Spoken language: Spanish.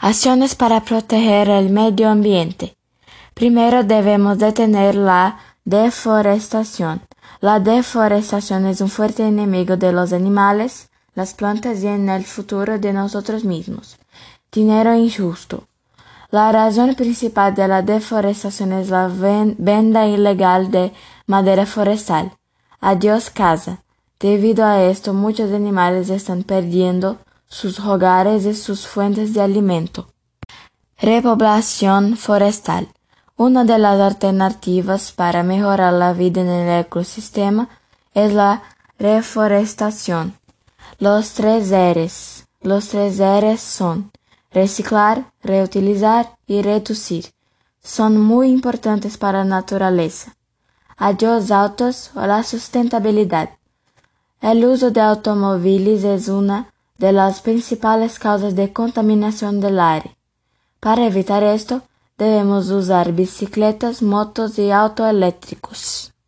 Acciones para proteger el medio ambiente. Primero debemos detener la deforestación. La deforestación es un fuerte enemigo de los animales, las plantas y en el futuro de nosotros mismos. Dinero injusto. La razón principal de la deforestación es la venta ilegal de madera forestal. Adiós casa. Debido a esto, muchos animales están perdiendo sus hogares y sus fuentes de alimento. Repoblación forestal. Una de las alternativas para mejorar la vida en el ecosistema es la reforestación. Los tres R's. Los tres R's son reciclar, reutilizar y reducir. Son muy importantes para la naturaleza. Adiós autos o la sustentabilidad. El uso de automóviles es una de las principales causas de contaminación del aire. Para evitar esto, debemos usar bicicletas, motos y autos eléctricos.